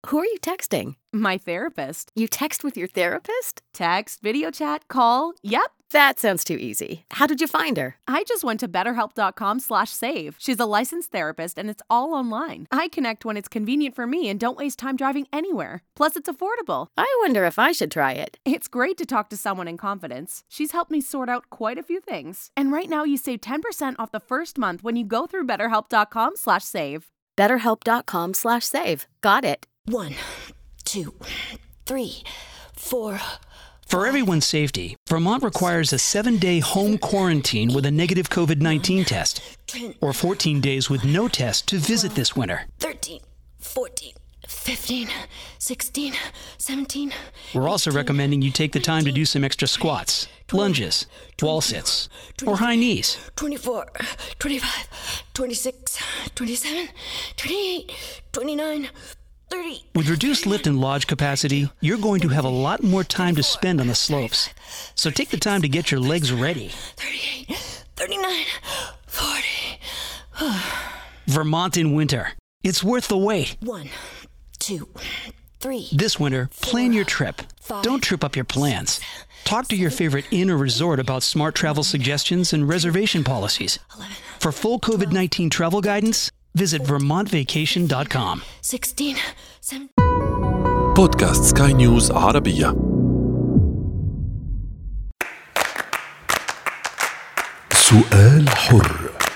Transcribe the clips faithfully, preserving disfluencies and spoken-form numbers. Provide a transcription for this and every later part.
Who are you texting? My therapist. You text with your therapist? Text, video chat, call. Yep. That sounds too easy. How did you find her? I just went to betterhelp.com slash save. She's a licensed therapist and it's all online. I connect when it's convenient for me and don't waste time driving anywhere. Plus, it's affordable. I wonder if I should try it. It's great to talk to someone in confidence. She's helped me sort out quite a few things. And right now you save ten percent off the first month when you go through betterhelp.com slash save. betterhelp.com slash save. Got it. One, two, three, four. For everyone's safety, Vermont requires a seven-day home quarantine with a negative COVID nineteen test, or fourteen days with no test to visit this winter. thirteen, fourteen, fifteen, sixteen, seventeen. We're also recommending you take the time to do some extra squats, lunges, wall sits, or high knees. twenty-four, twenty-five, twenty-six, twenty-seven, twenty-eight, twenty-nine, thirty. With reduced lift and lodge capacity, you're going to have a lot more time to spend on the slopes. So take the time to get your legs ready. thirty-eight, thirty-nine, forty. Vermont in winter. It's worth the wait. One, two, three. This winter, plan your trip. Don't trip up your plans. Talk to your favorite inn or resort about smart travel suggestions and reservation policies. For full COVID nineteen travel guidance, visit vermont vacation dot com. sixteen, seventeen. بودكاست سكاي نيوز عربية. سؤال حر.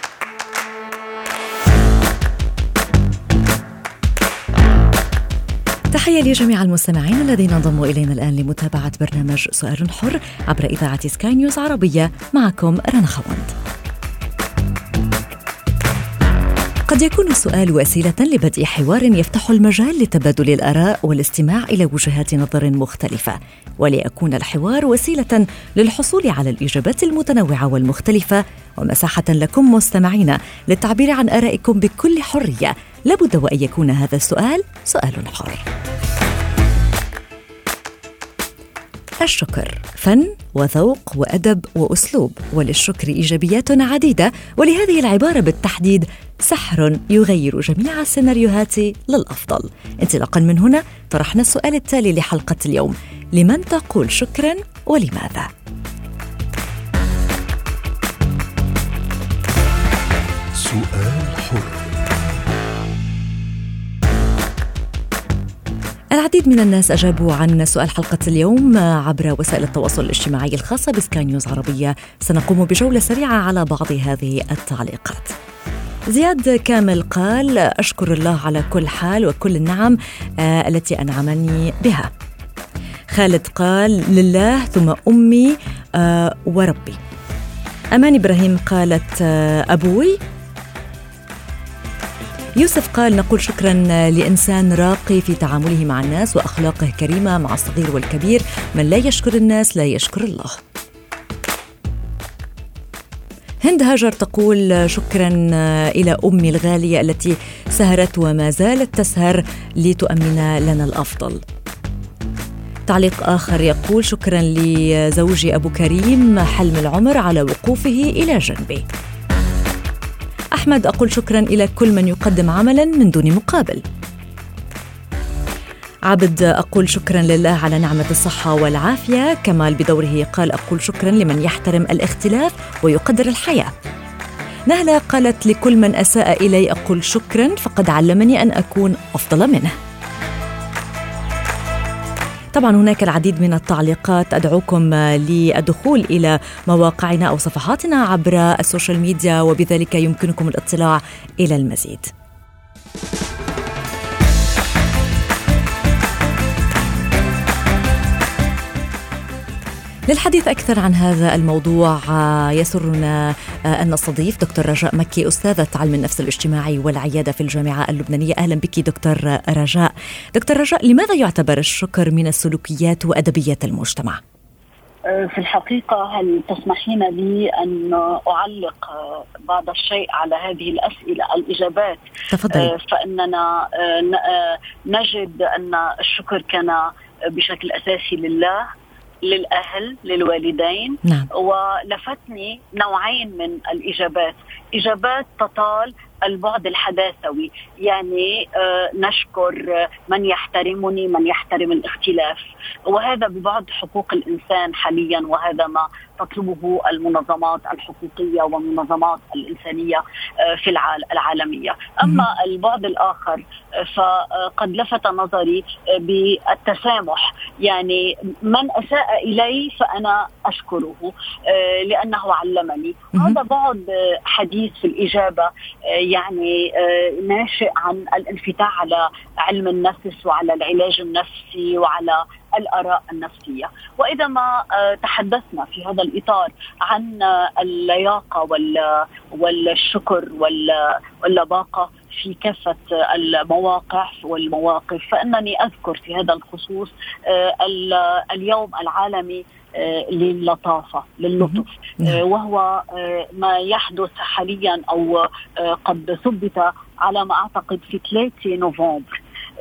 تحية لجميع المستمعين الذين انضموا إلينا الآن لمتابعة برنامج سؤال حر عبر إذاعة سكاي نيوز عربية. معكم رنا خوند. قد يكون السؤال وسيلة لبدء حوار يفتح المجال لتبادل الآراء والاستماع إلى وجهات نظر مختلفة، وليكون الحوار وسيلة للحصول على الإجابات المتنوعة والمختلفة ومساحة لكم مستمعين للتعبير عن آرائكم بكل حرية. لابد وأن يكون هذا السؤال سؤال حر. الشكر فن وذوق وأدب وأسلوب، وللشكر إيجابيات عديدة، ولهذه العبارة بالتحديد سحر يغير جميع السيناريوهات للأفضل. انطلاقا من هنا طرحنا السؤال التالي لحلقة اليوم: لمن تقول شكرا ولماذا؟ سؤال حر. العديد من الناس أجابوا عن سؤال حلقة اليوم عبر وسائل التواصل الاجتماعي الخاصة بسكاي نيوز عربية. سنقوم بجولة سريعة على بعض هذه التعليقات. زياد كامل قال: أشكر الله على كل حال وكل النعم آه التي أنعمني بها. خالد قال: لله ثم أمي آه وربي. أمان إبراهيم قالت: آه أبوي. يوسف قال: نقول شكرا لإنسان راقي في تعامله مع الناس وأخلاقه كريمة مع الصغير والكبير، من لا يشكر الناس لا يشكر الله. هند هاجر تقول: شكرا إلى أمي الغالية التي سهرت وما زالت تسهر لتؤمن لنا الأفضل. تعليق آخر يقول: شكرا لزوجي أبو كريم حلم العمر على وقوفه إلى جنبي. أحمد: أقول شكرا إلى كل من يقدم عملا من دون مقابل. عبد: أقول شكرا لله على نعمة الصحة والعافية. كمال بدوره قال: أقول شكرا لمن يحترم الاختلاف ويقدر الحياة. نهلة قالت: لكل من أساء إلي أقول شكرا فقد علمني أن أكون أفضل منه. طبعا هناك العديد من التعليقات، أدعوكم للدخول إلى مواقعنا أو صفحاتنا عبر السوشيال ميديا وبذلك يمكنكم الاطلاع إلى المزيد. للحديث أكثر عن هذا الموضوع يسرنا أن نستضيف دكتور رجاء مكي، أستاذة علم النفس الاجتماعي والعيادة في الجامعة اللبنانية. أهلا بك دكتور رجاء. دكتور رجاء، لماذا يعتبر الشكر من السلوكيات وأدبيات المجتمع؟ في الحقيقة هل تسمحين لي أن أعلق بعض الشيء على هذه الأسئلة الإجابات؟ تفضل. فإننا نجد أن الشكر كان بشكل أساسي لله، للأهل، للوالدين. نعم. ولفتني نوعين من الإجابات: إجابات تطال البعد الحداثوي، يعني نشكر من يحترمني، من يحترم الاختلاف، وهذا ببعد حقوق الإنسان حاليا، وهذا ما تطلبه المنظمات الحقوقية والمنظمات الإنسانية في العالمية. أما البعد الآخر فقد لفت نظري بالتسامح، يعني من أساء إلي فأنا أشكره لأنه علمني. هذا بعد حديث في الإجابة، يعني ناشئ عن الانفتاح على علم النفس وعلى العلاج النفسي وعلى الآراء النفسية. وإذا ما تحدثنا في هذا الإطار عن اللياقة والشكر واللباقة في كافة المواقع والمواقف، فإنني أذكر في هذا الخصوص اليوم العالمي للطافة للطف، وهو ما يحدث حاليا أو قد ثبت على ما أعتقد في ثلاثة نوفمبر،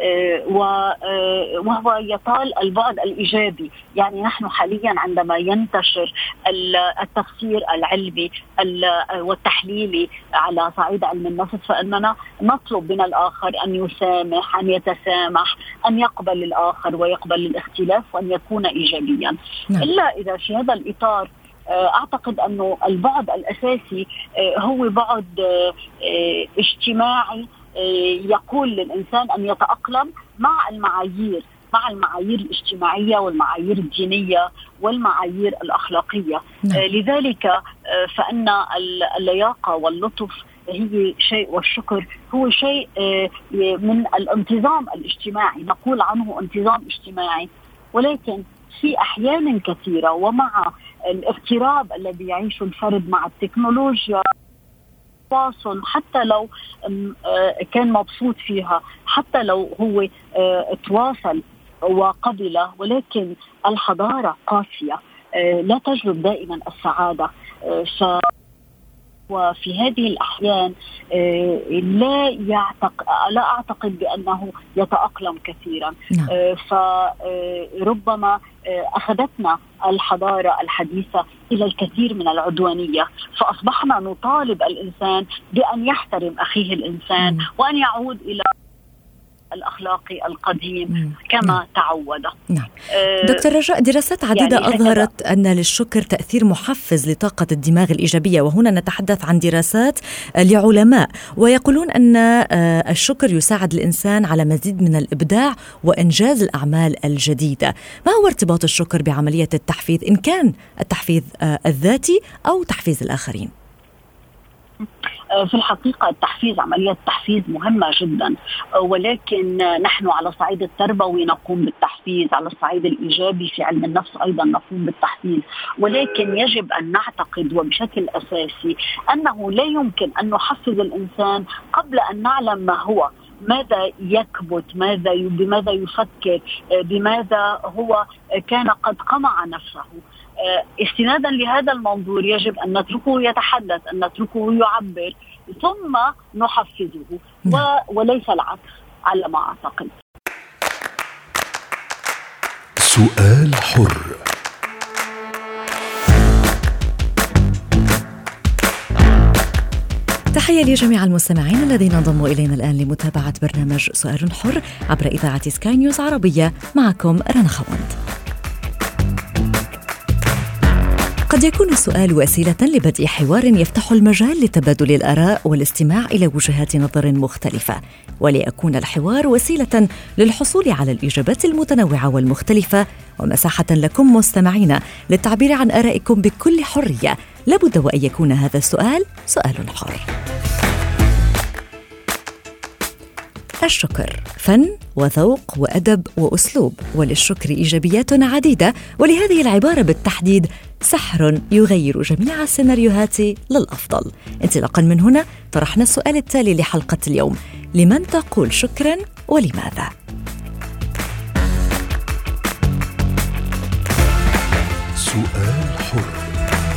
وهو يطال البعد الإيجابي. يعني نحن حاليا عندما ينتشر التفسير العلمي والتحليلي على صعيد علم النفس، فإننا نطلب من الآخر أن يسامح، أن يتسامح، أن يقبل الآخر ويقبل الاختلاف وأن يكون إيجابيا. إلا إذا في هذا الإطار أعتقد أنه البعد الأساسي هو بعد اجتماعي، يقول للإنسان أن يتأقلم مع المعايير مع المعايير الاجتماعية والمعايير الدينية والمعايير الأخلاقية. نعم. لذلك فإن اللياقة واللطف هي شيء، والشكر هو شيء من الانتظام الاجتماعي، نقول عنه انتظام اجتماعي، ولكن في أحيان كثيرة ومع الاغتراب الذي يعيشه الفرد مع التكنولوجيا، حتى لو كان مبسوط فيها، حتى لو هو تواصل وقبل، ولكن الحضارة قاسية لا تجلب دائما السعادة. ف وفي هذه الأحيان لا يعتق... لا أعتقد بأنه يتأقلم كثيرا. فربما أخذتنا الحضارة الحديثة إلى الكثير من العدوانية، فأصبحنا نطالب الإنسان بأن يحترم أخيه الإنسان وأن يعود إلى الأخلاقي القديم كما نعم. تعود. نعم. دكتور رجاء، دراسات عديدة يعني أظهرت أن للشكر تأثير محفز لطاقة الدماغ الإيجابية، وهنا نتحدث عن دراسات لعلماء ويقولون أن الشكر يساعد الإنسان على مزيد من الإبداع وإنجاز الأعمال الجديدة. ما هو ارتباط الشكر بعملية التحفيز، إن كان التحفيز الذاتي أو تحفيز الآخرين؟ في الحقيقة التحفيز، عملية التحفيز مهمة جدا، ولكن نحن على الصعيد التربوي نقوم بالتحفيز، على الصعيد الإيجابي في علم النفس أيضا نقوم بالتحفيز، ولكن يجب أن نعتقد وبشكل أساسي أنه لا يمكن أن نحفز الإنسان قبل أن نعلم ما هو، ماذا يكبت، ماذا بماذا يفكر، بماذا هو كان قد قمع نفسه. استنادا لهذا المنظور يجب أن نتركه يتحدث، أن نتركه يعبر، ثم نحفزه وليس العكس على ما أعتقد. سؤال حر. تحية لجميع المستمعين الذين انضموا إلينا الآن لمتابعة برنامج سؤال حر عبر إذاعة سكاي نيوز عربية. معكم رنا خوند. قد يكون السؤال وسيلة لبدء حوار يفتح المجال لتبادل الآراء والاستماع إلى وجهات نظر مختلفة، وليكون الحوار وسيلة للحصول على الإجابات المتنوعة والمختلفة ومساحة لكم مستمعين للتعبير عن آرائكم بكل حرية. لابد وأن يكون هذا السؤال سؤال حر. الشكر فن وذوق وأدب وأسلوب، وللشكر إيجابيات عديدة، ولهذه العبارة بالتحديد سحر يغير جميع السيناريوهات للأفضل. انطلاقا من هنا طرحنا السؤال التالي لحلقة اليوم: لمن تقول شكرا ولماذا؟ سؤال حر.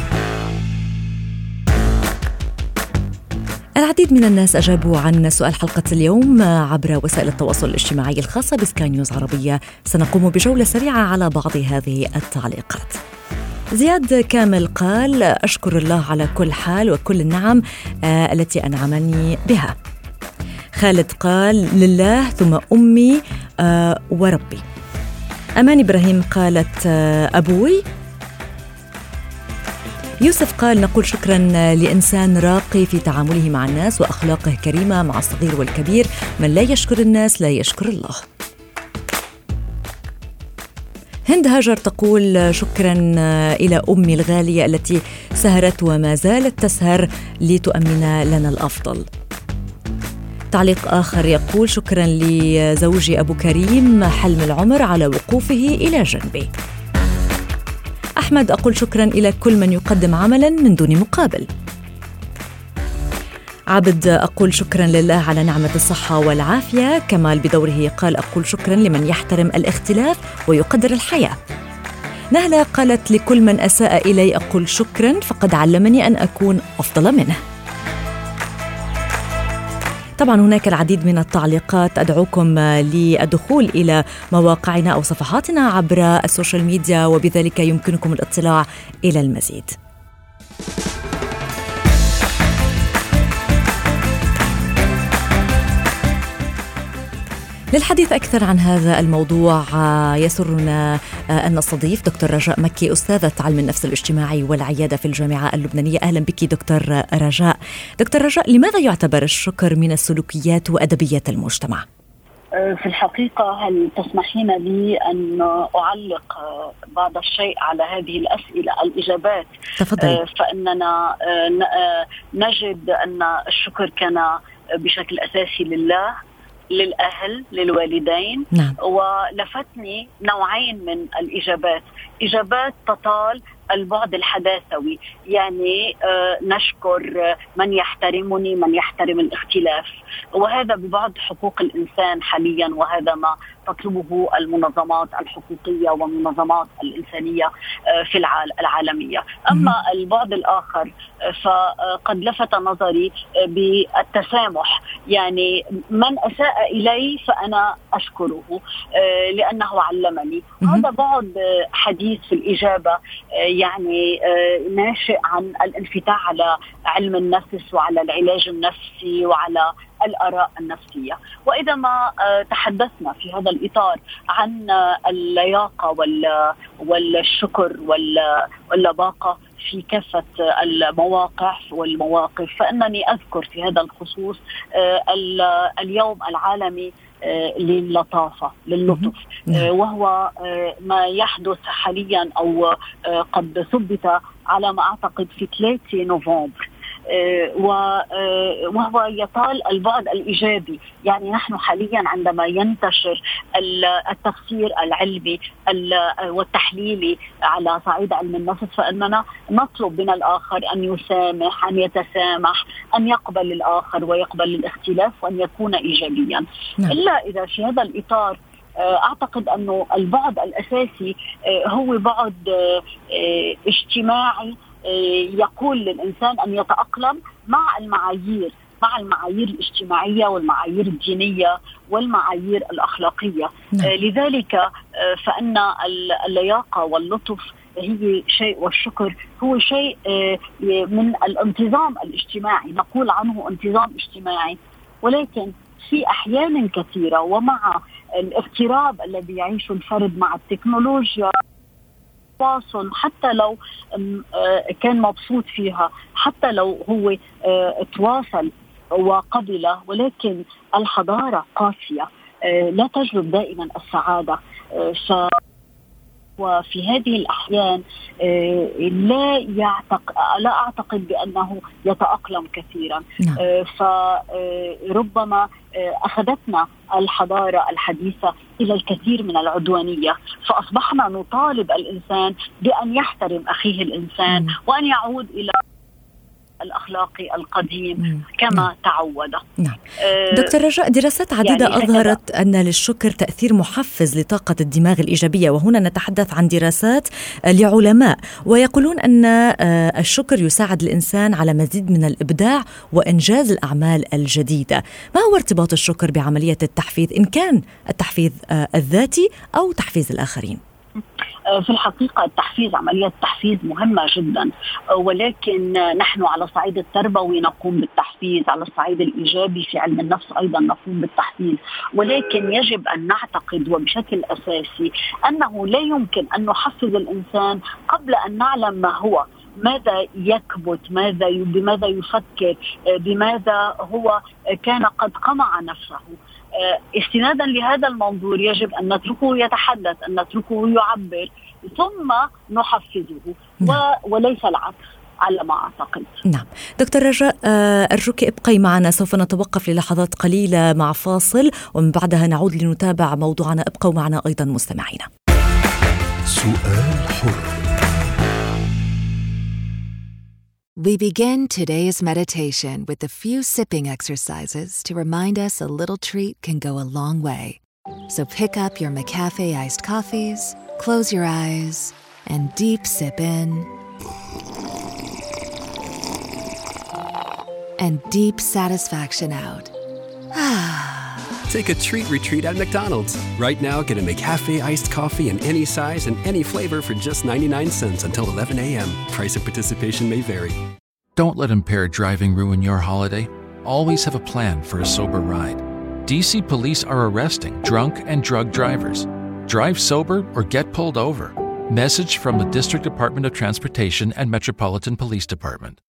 العديد من الناس أجابوا عن سؤال حلقة اليوم عبر وسائل التواصل الاجتماعي الخاصة بسكاي نيوز عربية. سنقوم بجولة سريعة على بعض هذه التعليقات. زياد كامل قال أشكر الله على كل حال وكل النعم آه التي أنعمني بها. خالد قال لله ثم أمي آه وربي. أمان إبراهيم قالت آه أبوي. يوسف قال نقول شكرا لإنسان راقي في تعامله مع الناس وأخلاقه كريمة مع الصغير والكبير، من لا يشكر الناس لا يشكر الله. هند هاجر تقول شكرا إلى أمي الغالية التي سهرت وما زالت تسهر لتؤمن لنا الأفضل. تعليق آخر يقول شكرا لزوجي أبو كريم حلم العمر على وقوفه إلى جنبي. أحمد أقول شكرا إلى كل من يقدم عملا من دون مقابل. عبد أقول شكرا لله على نعمة الصحة والعافية. كمال بدوره قال أقول شكرا لمن يحترم الاختلاف ويقدر الحياة. نهلة قالت لكل من أساء إلي أقول شكرا فقد علمني أن أكون أفضل منه. طبعا هناك العديد من التعليقات، أدعوكم للدخول إلى مواقعنا أو صفحاتنا عبر السوشيال ميديا وبذلك يمكنكم الاطلاع إلى المزيد. للحديث أكثر عن هذا الموضوع يسرنا أن نستضيف دكتور رجاء مكي، أستاذة علم النفس الاجتماعي والعيادة في الجامعة اللبنانية. أهلا بك دكتور رجاء. دكتور رجاء، لماذا يعتبر الشكر من السلوكيات وأدبيات المجتمع؟ في الحقيقة هل تسمحين لي أن أعلق بعض الشيء على هذه الأسئلة الإجابات؟ تفضل. فإننا نجد أن الشكر كان بشكل أساسي لله، للأهل، للوالدين. نعم. ولفتني نوعين من الإجابات، إجابات تطال البعد الحداثوي، يعني آه نشكر من يحترمني، من يحترم الاختلاف، وهذا ببعض حقوق الإنسان حاليا، وهذا ما تطلبه المنظمات الحقوقية والمنظمات الإنسانية آه في العالمية. أما البعد الآخر آه فقد لفت نظري آه بالتسامح، يعني من أساء إلي فأنا أشكره آه لأنه علمني. هذا بعد آه حديث في الإجابة آه يعني ناشئ عن الانفتاح على علم النفس وعلى العلاج النفسي وعلى الآراء النفسية. وإذا ما تحدثنا في هذا الإطار عن اللياقة والشكر واللباقة في كافة المواقع والمواقف، فإنني أذكر في هذا الخصوص اليوم العالمي للطافة، للطف، وهو ما يحدث حاليا أو قد ثبت على ما أعتقد في ثلاثة نوفمبر، وهو يطال البعد الإيجابي. يعني نحن حاليا عندما ينتشر التفسير العلمي والتحليلي على صعيد علم النفس، فإننا نطلب من الآخر أن يسامح، أن يتسامح، أن يقبل الآخر ويقبل الاختلاف وأن يكون إيجابيا. نعم. إلا إذا في هذا الإطار أعتقد أنه البعد الأساسي هو بعد اجتماعي يقول للإنسان أن يتأقلم مع المعايير مع المعايير الاجتماعية والمعايير الدينية والمعايير الأخلاقية. نعم. لذلك فإن اللياقة واللطف هي شيء، والشكر هو شيء من الانتظام الاجتماعي، نقول عنه انتظام اجتماعي. ولكن في أحيان كثيرة ومع الاغتراب الذي يعيشه الفرد مع التكنولوجيا، تواصل حتى لو كان مبسوط فيها، حتى لو هو تواصل وقبل، ولكن الحضارة قاسية لا تجلب دائما السعادة. ف وفي هذه الأحيان لا يعتق... لا أعتقد بأنه يتأقلم كثيرا. فربما أخذتنا الحضارة الحديثة إلى الكثير من العدوانية، فأصبحنا نطالب الإنسان بأن يحترم أخيه الإنسان م. وأن يعود إلى الأخلاقي القديم م. كما نعم. تعود. نعم. دكتور رجاء، دراسات عديدة يعني أظهرت أن للشكر تأثير محفز لطاقة الدماغ الإيجابية، وهنا نتحدث عن دراسات لعلماء ويقولون أن الشكر يساعد الإنسان على مزيد من الإبداع وإنجاز الأعمال الجديدة. ما هو ارتباط الشكر بعملية التحفيز، إن كان التحفيز الذاتي أو تحفيز الآخرين؟ في الحقيقة التحفيز، عملية التحفيز مهمة جدا، ولكن نحن على الصعيد التربوي نقوم بالتحفيز، على الصعيد الإيجابي في علم النفس أيضا نقوم بالتحفيز، ولكن يجب أن نعتقد وبشكل أساسي أنه لا يمكن أن نحفز الإنسان قبل أن نعلم ما هو، ماذا يكبت، ماذا بماذا يفكر، بماذا هو كان قد قمع نفسه. استنادا لهذا المنظور يجب أن نتركه يتحدث، أن نتركه يعبر، ثم نحفزه وليس العكس على ما أعتقد. نعم دكتور رجاء، أرجوك ابقي معنا، سوف نتوقف للحظات قليلة مع فاصل ومن بعدها نعود لنتابع موضوعنا. ابقوا معنا أيضا مستمعينا. سؤال حر. We begin today's meditation with a few sipping exercises to remind us a little treat can go a long way. So pick up your McCafe iced coffees, close your eyes, and deep sip in and deep satisfaction out. Take a treat retreat at McDonald's. Right now, get a McCafe iced coffee in any size and any flavor for just ninety-nine cents until eleven a.m. Price of participation may vary. Don't let impaired driving ruin your holiday. Always have a plan for a sober ride. D C police are arresting drunk and drug drivers. Drive sober or get pulled over. Message from the District Department of Transportation and Metropolitan Police Department.